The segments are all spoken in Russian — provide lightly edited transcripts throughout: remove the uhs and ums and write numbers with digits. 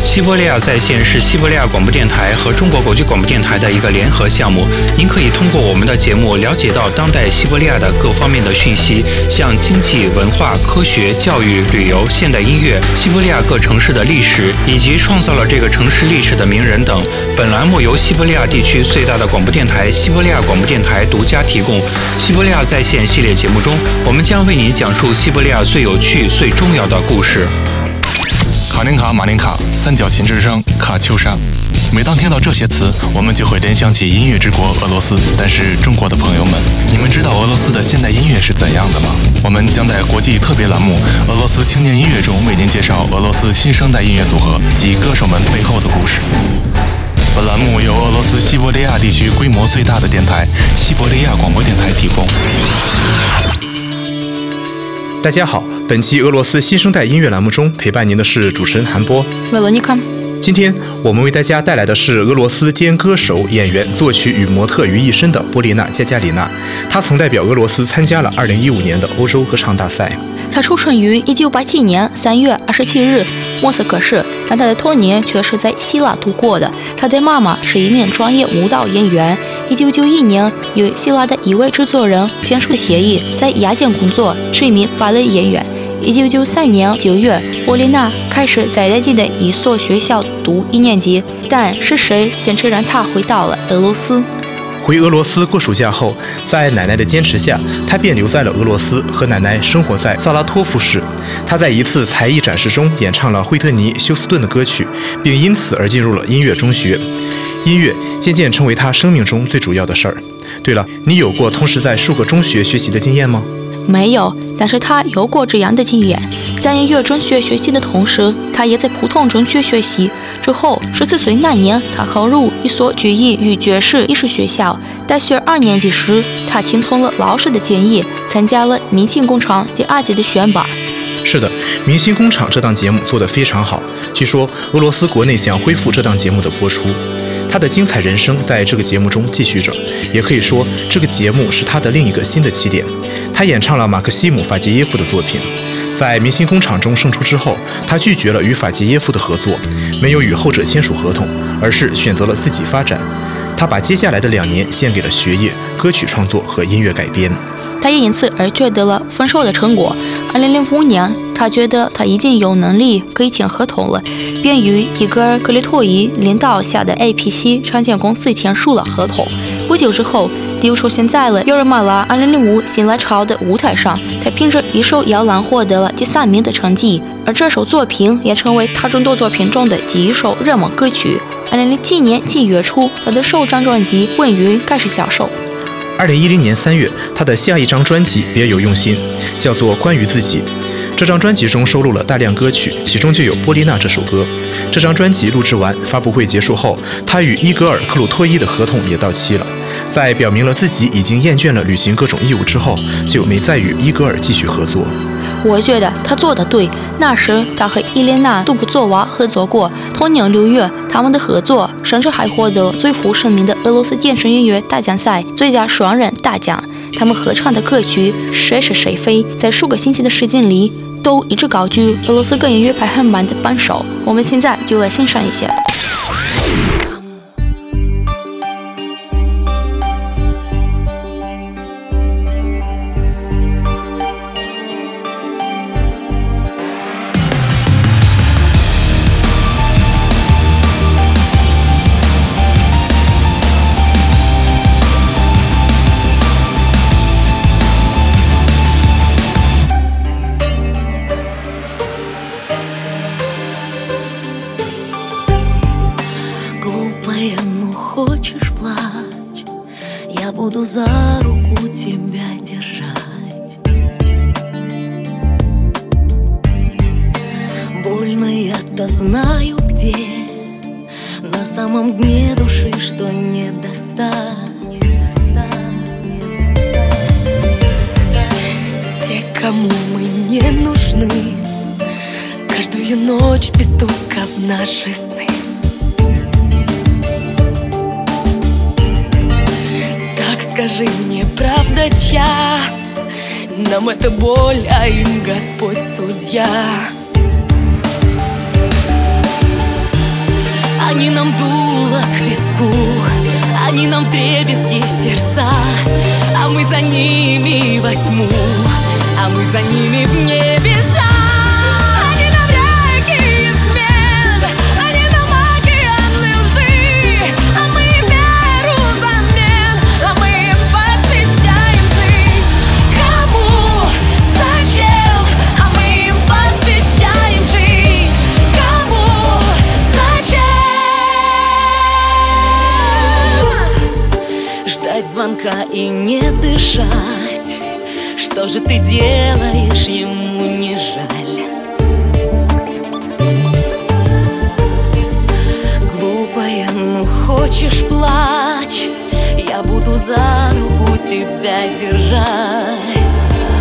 西伯利亚在线是西伯利亚广播电台和中国国际广播电台的一个联合项目。您可以通过我们的节目了解到当代西伯利亚的各方面的讯息，像经济、文化、科学、教育、旅游、现代音乐、西伯利亚各城市的历史，以及创造了这个城市历史的名人等。本栏目由西伯利亚地区最大的广播电台西伯利亚广播电台独家提供。西伯利亚在线系列节目中，我们将为您讲述西伯利亚最有趣、最重要的故事。 卡林卡、马林卡、三角琴之声、卡秋莎。每当听到这些词，我们就会联想起音乐之国俄罗斯。但是中国的朋友们，你们知道俄罗斯的现代音乐是怎样的吗？我们将在国际特别栏目《俄罗斯青年音乐》中为您介绍俄罗斯新生代音乐组合及歌手们背后的故事。本栏目由俄罗斯西伯利亚地区规模最大的电台西伯利亚广播电台提供。 大家好，本期俄罗斯新生代音乐栏目中陪伴您的是主持人韩波。今天我们为大家带来的是俄罗斯兼歌手、演员、作曲与模特于一身的波丽娜·加加里娜。她曾代表俄罗斯参加了2015年的欧洲歌唱大赛。 她出生于1987年3月27日莫斯科市，但她的童年却是在希腊度过的。她的妈妈是一名专业舞蹈演员。1991年与希腊的一位制作人签署协议，在雅典工作，是一名芭蕾演员。1993年9月，波丽娜开始在当地的一所学校读1年级，但是谁坚持让她回到了俄罗斯？ 回俄罗斯过暑假后，在奶奶的坚持下，她便留在了俄罗斯，和奶奶生活在萨拉托夫市。她在一次才艺展示中演唱了惠特尼·休斯顿的歌曲，并因此而进入了音乐中学。音乐渐渐成为她生命中最主要的事儿。对了，你有过同时在数个中学学习的经验吗？ 没有，但是他有过这样的经验。在音乐中学学习的同时，他也在普通中学学习。之后14岁那年，他考入一所曲艺与爵士艺术学校。大学2年级时，他听从了老师的建议，参加了《明星工厂》第2季的选拔。 是的，《明星工厂》这档节目做得非常好，据说俄罗斯国内想恢复这档节目的播出。他的精彩人生在这个节目中继续着，也可以说这个节目是他的另一个新的起点。他演唱了马克西姆·法捷耶夫的作品。在明星工厂中胜出之后，他拒绝了与法捷耶夫的合作，没有与后者签署合同，而是选择了自己发展。他把接下来的2年献给了学业、歌曲创作和音乐改编。 他也因此而取得了丰硕的成果。2005年，他觉得他已经有能力可以签合同了，便与伊戈尔·格列托伊领导下的 APC 唱片公司签署了合同。不久之后，又出现在了尤尔马拉2005新浪潮的舞台上，他凭着一首摇篮获得了第3名的成绩，而这首作品也成为他众多作品中的第一首热门歌曲。2007年7月初，他的首张专辑《问云》开始销售。 2010年3月，他的下一张专辑别有用心，叫做《关于自己》。这张专辑中收录了大量歌曲，其中就有《波丽娜》这首歌。这张专辑录制完，发布会结束后，他与伊戈尔·克鲁托伊的合同也到期了。在表明了自己已经厌倦了履行各种义务之后，就没再与伊戈尔继续合作。 我觉得他做得对。那时他和伊莲娜·杜布佐娃合作过，同年6月，他们的合作甚至还获得最负盛名的俄罗斯电视音乐大奖赛最佳双人大奖。他们合唱的歌曲《谁是谁非》在数个星期的时间里都一直高居俄罗斯歌音乐排行榜的榜首。我们现在就来欣赏一下。 Ну хочешь плачь, я буду за руку тебя держать. Больно я-то знаю где, на самом дне души, что не достать. Те, кому мы не нужны, каждую ночь без стука в наши сны. Скажи мне, правда чья? Нам это боль, а им Господь судья. Они нам дуло к виску, они нам вдребезги сердца, а мы за ними во тьму, а мы за ними в небеса. Они нам реки измен, они нам океаны лжи, а мы им веру взамен, а мы им посвящаем жизнь. Кому? Зачем? А мы им посвящаем жизнь. Кому? Зачем? Ждать звонка и не дышать. Что же ты делаешь, ему не жаль? Глупая, ну хочешь плачь, я буду за руку тебя держать.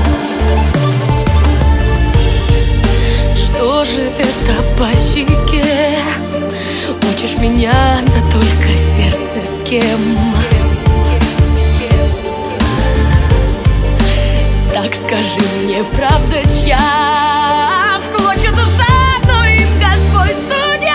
Что же это по щеке? Учишь меня, да только сердце с кем? Так скажи мне, правда чья? В клочья душа, но им Господь судья.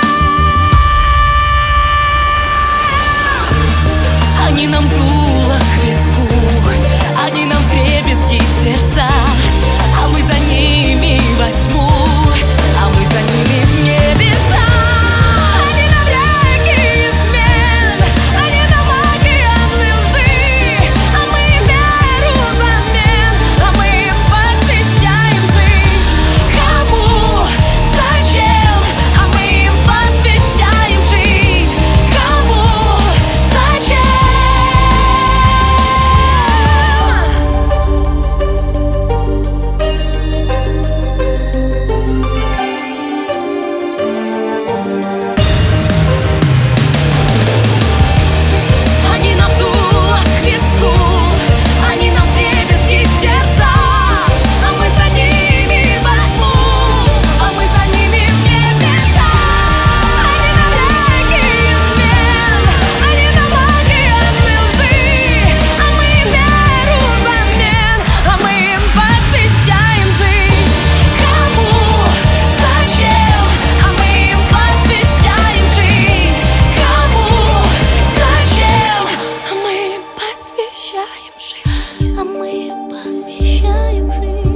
Они нам дуло к виску, они нам вдребезги сердца, а мы за ними во тьму, а мы за ними в небеса. Они нам реки измен, они нам океаны лжи, а мы им веру взамен, а мы им посвящаем жизнь. Кому? Зачем? А мы им посвящаем жизнь. Кому? Зачем? Они нам дуло к виску, они нам вдребезги сердца, а мы за ними во тьму, а мы за ними в небеса. Они нам реки измен, они нам океаны лжи, а мы им веру взамен, а мы им посвящаем жизнь. Кому? Зачем? А мы им посвящаем жизнь. Кому? Зачем? А мы им посвящаем жизнь. А мы им посвящаем жизнь.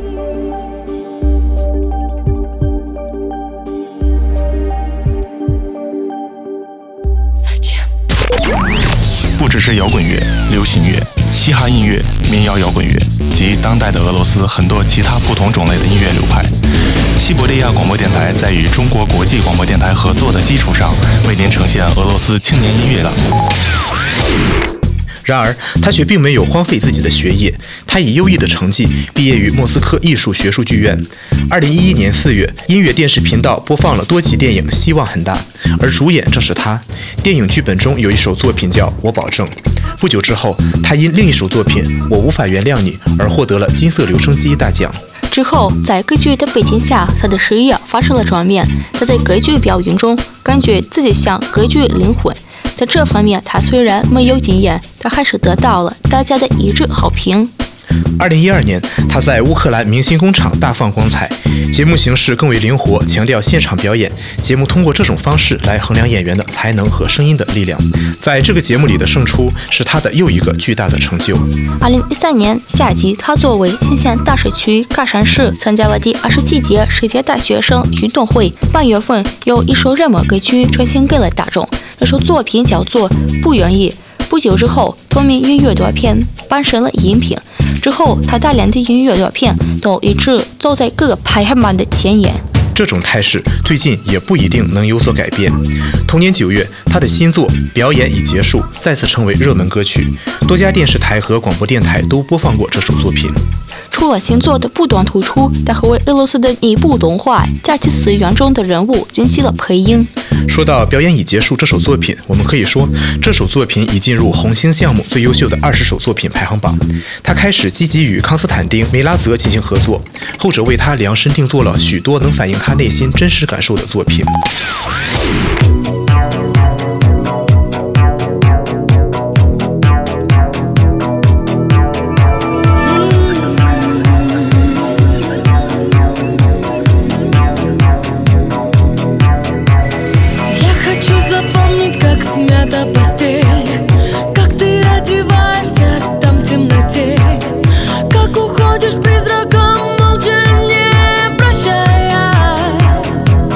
Зачем? 不只是摇滚乐、流行乐、嘻哈音乐、民谣摇滚乐及当代的俄罗斯很多其他不同种类的音乐流派。西伯利亚广播电台在与中国国际广播电台合作的基础上，为您呈现俄罗斯青年音乐栏目。 然而，他却并没有荒废自己的学业，他以优异的成绩毕业于莫斯科艺术学术剧院。2011年4月，音乐电视频道播放了多集电影《希望很大》，而主演正是他。电影剧本中有一首作品叫《我保证》。不久之后，他因另一首作品《我无法原谅你》而获得了金色留声机大奖。 之后，在歌剧的背景下，他的事业发生了转变。他在歌剧表演中感觉自己像歌剧灵魂。在这方面，他虽然没有经验，但还是得到了大家的一致好评。 2012年，他在乌克兰明星工厂大放光彩，节目形式更为灵活，强调现场表演。节目通过这种方式来衡量演员的才能和声音的力量。在这个节目里的胜出，是他的又一个巨大的成就。 2013年夏季，他作为新县大社区喀山市参加了第27届世界大学生运动会。8月份，有一首热门歌曲呈现给了大众，这首作品叫做《不愿意》。不久之后，同名音乐短片搬上了荧屏。之后，他大量的音乐短片都一直走在各个排行榜的前沿。 这种态势最近也不一定能有所改变。同年9月，他的新作《表演已结束》再次成为热门歌曲，多家电视台和广播电台都播放过这首作品。 除了新作的不断突出，他还为俄罗斯的一部动画《假期4元》中的人物进行了配音。 说到《表演已结束》这首作品，我们可以说这首作品已进入红星项目最优秀的20首作品排行榜。他开始积极与康斯坦丁·梅拉泽进行合作，后者为他量身定做了许多能反映他内心真实感受的作品。 запомнить, как смята постель, как ты одеваешься там в темноте, как уходишь призраком, молча не прощаясь.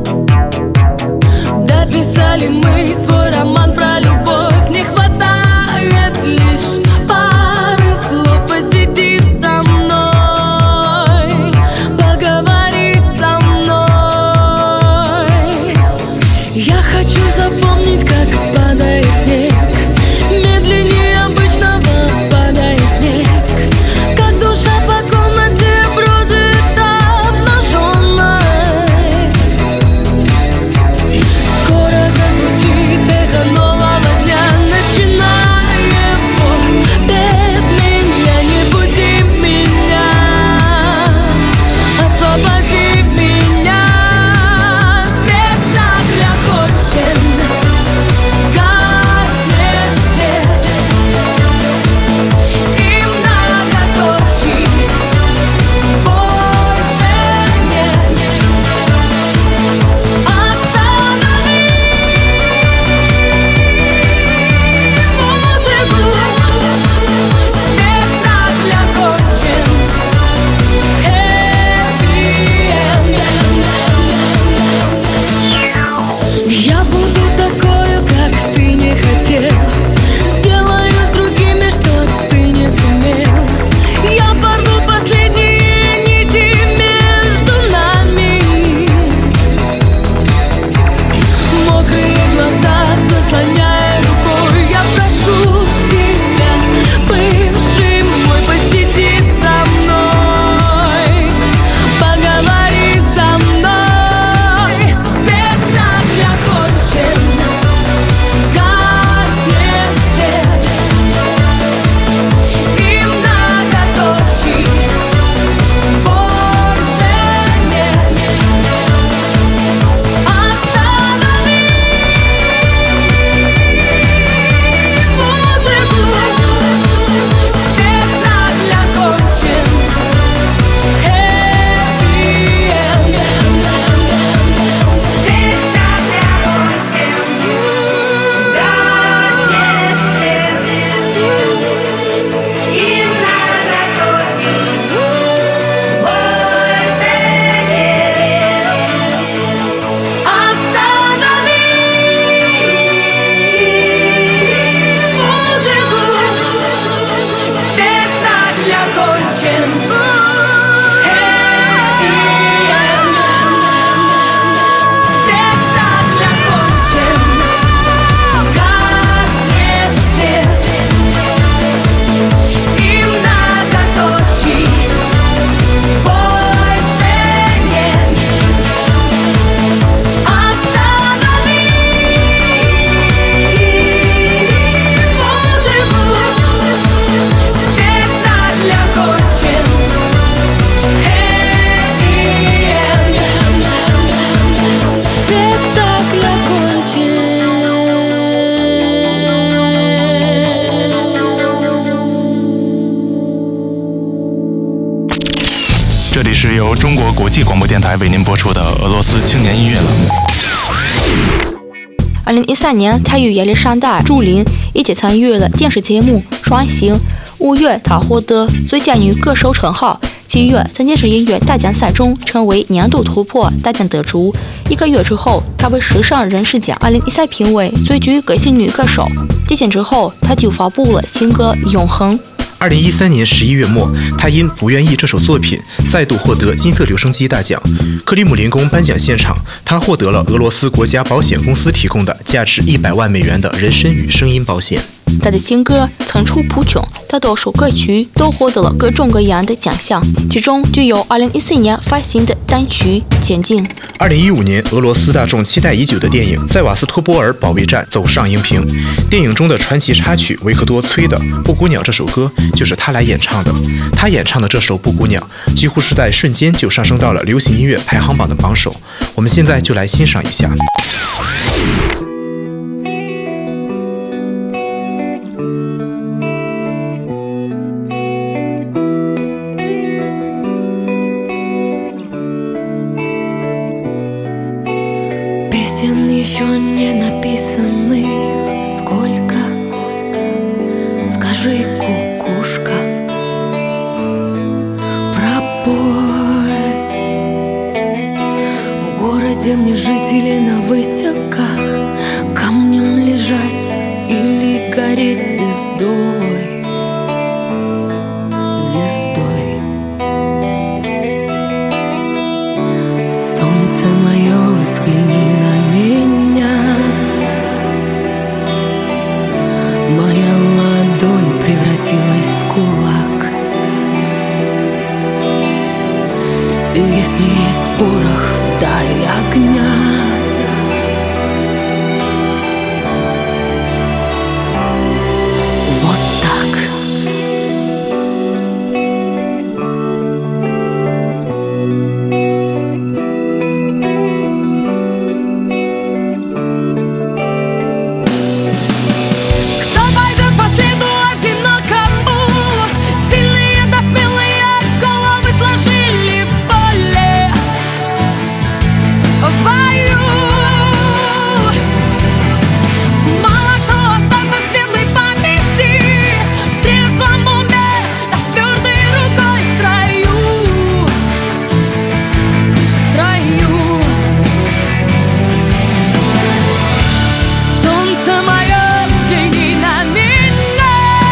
Дописали мы свой роман про любовь, не хватает лишь пары слов. Посиди со мной, поговори со мной. Я хочу запомнить, как падает снег, медленнее обычного падает снег, как душа по комнате бродит обнаженной. Скоро зазвучит эхо нового дня, начиная его без меня. Не буди меня, освободи меня. Спектакль окончен, гаснет свет, и многоточий больше нет. Останови музыку, спектакль окончен, я буду такою, как ты не хотел, сделаю с другими, что ты не сумел. Я порву последние нити между нами. Мокрые глаза заслоняя рукой, я прошу тебя, бывший мой, посиди со мной, поговори со мной. Спектакль окончен, гаснет свет, и многоточий больше нет. Останови музыку, спектакль окончен, 这里是由中国国际广播电台为您播出的俄罗斯青年音乐栏目。 2013年，他与亚历山大·朱琳一起参与了电视节目《双星》。5月，她获得最佳女歌手称号。7月，在电视音乐大奖赛中成为年度突破大奖得主。1个月之后，她被时尚人士奖2014评为最具个性女歌手。几天之后，她就发布了新歌《永恒》。 2013年11月末，他因《不愿意》这首作品再度获得金色留声机大奖。克里姆林宫颁奖现场，他获得了俄罗斯国家保险公司提供的价值100万美元的人身与声音保险。 他的新歌层出不穷，大多数歌曲都获得了各种各样的奖项，其中就有2014年发行的单曲《前进》。 2015年，俄罗斯大众期待已久的电影《塞瓦斯托波尔保卫战》走上荧屏。电影中的传奇插曲维克多崔的《布谷鸟》这首歌就是他来演唱的。他演唱的这首《布谷鸟》几乎是在瞬间就上升到了流行音乐排行榜的榜首。我们现在就来欣赏一下。 Песен еще не написанных сколько? Скажи, кукушка, пробой. В городе мне жить или на выселках, камнем лежать или гореть звездой. Звездой. Солнце мое, взгляни на меня. Моя ладонь превратилась в кулак. И если есть порох, дай огня. Вот так. Кто пойдет по следу одинокому? Сильные да смелые головы сложили в поле, в бою. Мало кто остался в светлой памяти, в трезвом уме, да с твердой рукой в строю. В строю. Солнце мое, взгляни на меня.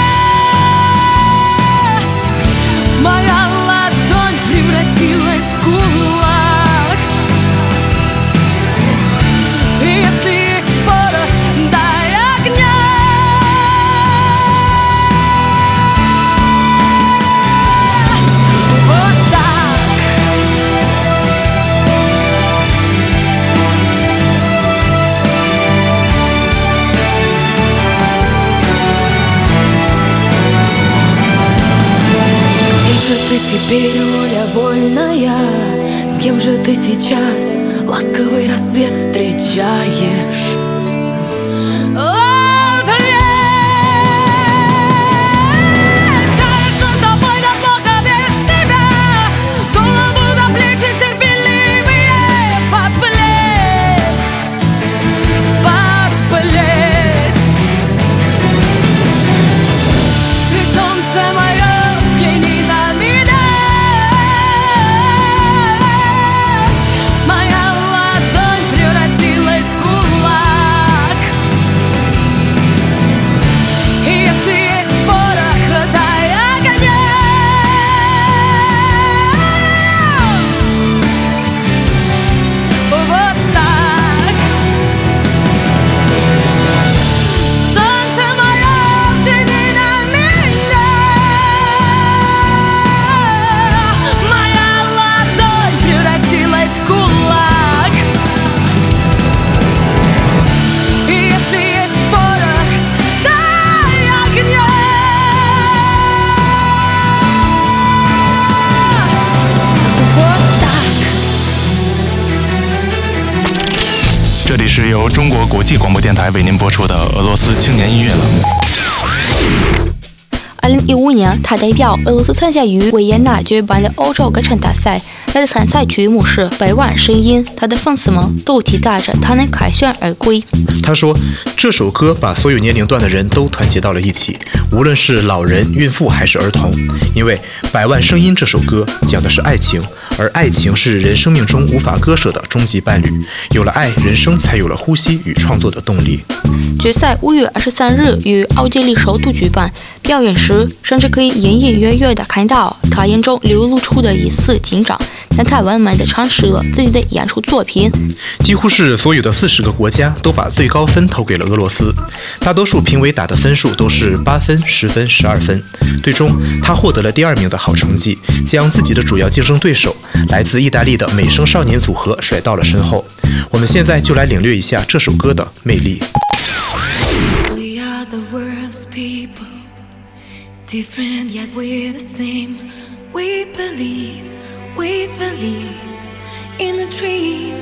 Моя ладонь превратилась в кулак. И если есть порох, дай огня. Вот так. Где же ты теперь, воля вольная? С кем же ты сейчас ласковый рассвет встречаешь? Хорошо с тобой, да плохо без тебя. Голову до плечи терпеливее подплеть. Подплеть. Ты, солнце мое, взгляни на меня. Моя ладонь превратилась в кулак. И если есть порох, дай огня. Вот так. Солнце мое, взгляни на меня. Моя ладонь превратилась в кулак. И если есть порох, дай огня. Вот так. 这里是由中国国际广播电台为您播出的俄罗斯青年音乐了。 2015年，他代表俄罗斯参加于维也纳举办的欧洲歌唱大赛。他的参赛曲目是《百万声音》，他的粉丝们都期待着他能凯旋而归。 他说，这首歌把所有年龄段的人都团结到了一起，无论是老人、孕妇还是儿童。因为《百万声音》这首歌讲的是爱情，而爱情是人生命中无法割舍的终极伴侣。有了爱，人生才有了呼吸与创作的动力。 决赛5月23日于奥地利首都举办，表演时甚至可以隐隐约约地看到他眼中流露出的一丝紧张，但他完美地阐释了自己的演出作品。 几乎是所有的40个国家都把最高分投给了俄罗斯，大多数评委打的分数都是8分、10分、12分。最终，他获得了第2名的好成绩，将自己的主要竞争对手来自意大利的美声少年组合甩到了身后。我们现在就来领略一下这首歌的魅力。 We are the world's people, different yet we're the same. We believe in a dream,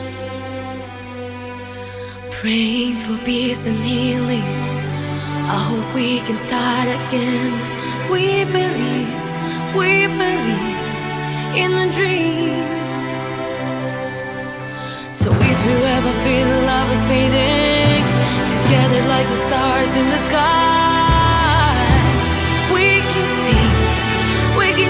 praying for peace and healing. I hope we can start again. We believe in a dream. So if you ever feel love love is fading, together like the stars in the sky. We can see, we can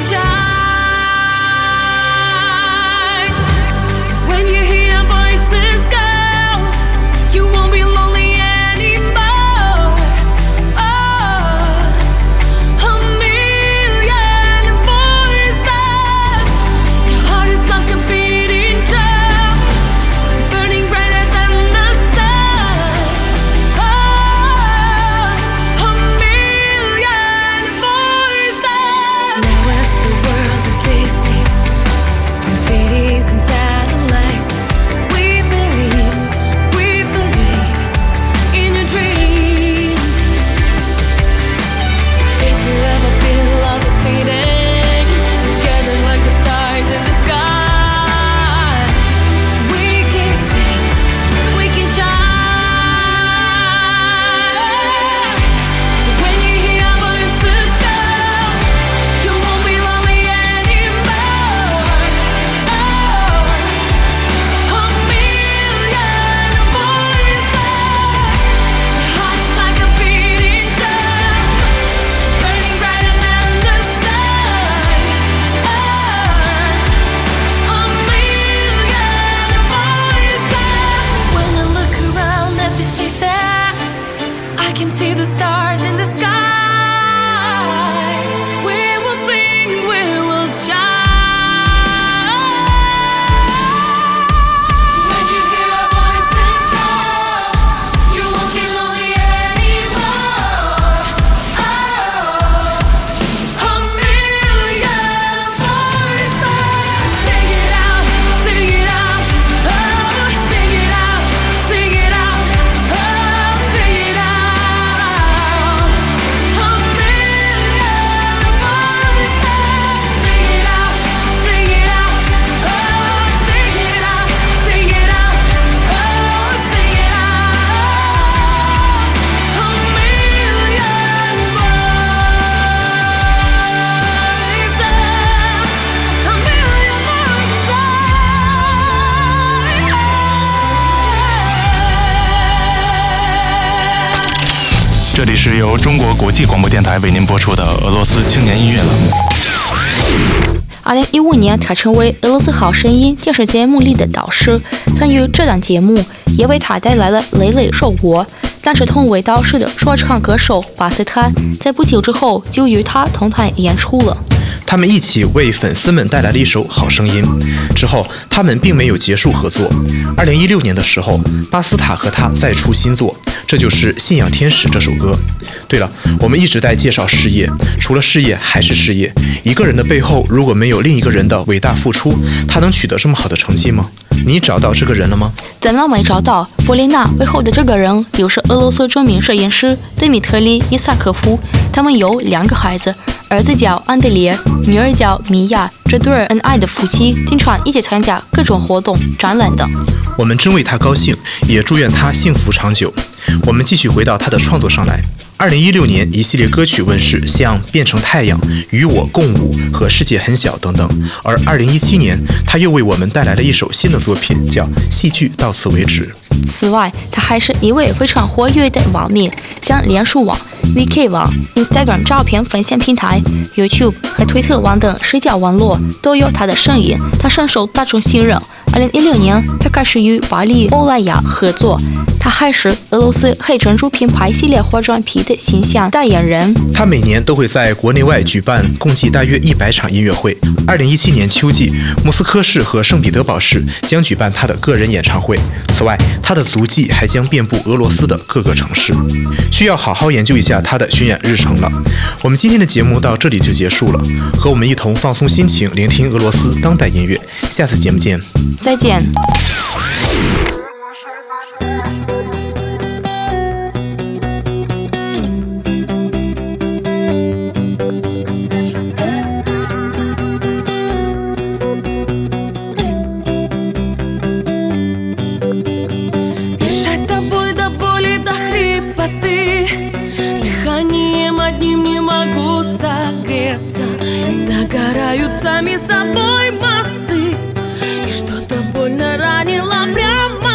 shine. When you hear voices go, you won't be lonely anymore. Oh, a million voices. Your heart is like a beating drum, burning brighter than the sun. Oh, a million voices. Now as the world is listening from cities and satellites, we believe in your dream. If you ever feel love is fading, together like the stars in the sky, we can sing, we can shine. When you hear voices go, you won't be lonely anymore. Oh, a million voices. Your heart's like a beating drum, burning brighter than the sun. Oh, a million voices. When I look around at these faces, I can see the stars in the sky. We will sing, we will shine. When you hear our voices call, you won't be lonely anymore. Oh, a million voices. Sing it out, sing it out. Oh, sing it out, sing it out. Oh, sing it out. A million voices. Sing it out, sing it out. Oh, sing it out, sing it out. Oh, sing it out. A million voices. A million voices. 这里是由中国国际广播电台为您播出的俄罗斯青年音乐栏目。 2015年，他成为俄罗斯好声音电视节目里的导师，参与这档节目也为他带来了累累收获。但是同为导师的说唱歌手巴斯坦，在不久之后就与他同台演出了。 他们一起为粉丝们带来了一首《好声音》。之后，他们并没有结束合作。2016年的时候，巴斯塔和他再出新作，这就是《信仰天使》这首歌。对了，我们一直在介绍事业，除了事业还是事业。一个人的背后如果没有另一个人的伟大付出，他能取得这么好的成绩吗？你找到这个人了吗？ 怎么没找到？波丽娜背后的这个人就是俄罗斯著名摄影师德米特里·伊萨科夫。他们有2个孩子，儿子叫安德烈，女儿叫米娅。这对恩爱的夫妻经常一起参加各种活动、展览等。 我们真为他高兴，也祝愿他幸福长久。我们继续回到他的创作上来。2016年，一系列歌曲问世，像《变成太阳》、《与我共舞》和《世界很小》等等。而2017年，他又为我们带来了一首新的作品，叫《戏剧到此为止》。 此外，他还是一位非常活跃的网民，像脸书网、VK 网、Instagram 照片分享平台、YouTube 和推特网等社交网络都有他的身影。他深受大众信任。2016年，他开始与巴黎欧莱雅合作。他还是俄罗斯黑珍珠品牌系列化妆品的形象代言人。 他每年都会在国内外举办共计大约100场音乐会。2017年秋季，莫斯科市和圣彼得堡市将举办他的个人演唱会。此外，他的足迹还将遍布俄罗斯的各个城市。需要好好研究一下他的巡演日程了。我们今天的节目到这里就结束了，和我们一同放松心情，聆听俄罗斯当代音乐。下次节目见。 再见。 Бежать тобой до боли, до хрипоты, дыханием одним не могу согреться, и догорают сами собой мосты, и что-то больно ранило прямо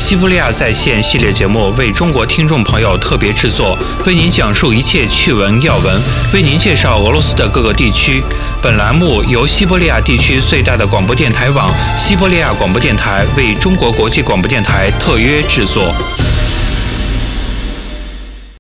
西伯利亚在线系列节目为中国听众朋友特别制作，为您讲述一切趣闻要闻，为您介绍俄罗斯的各个地区。本栏目由西伯利亚地区最大的广播电台网西伯利亚广播电台为中国国际广播电台特约制作。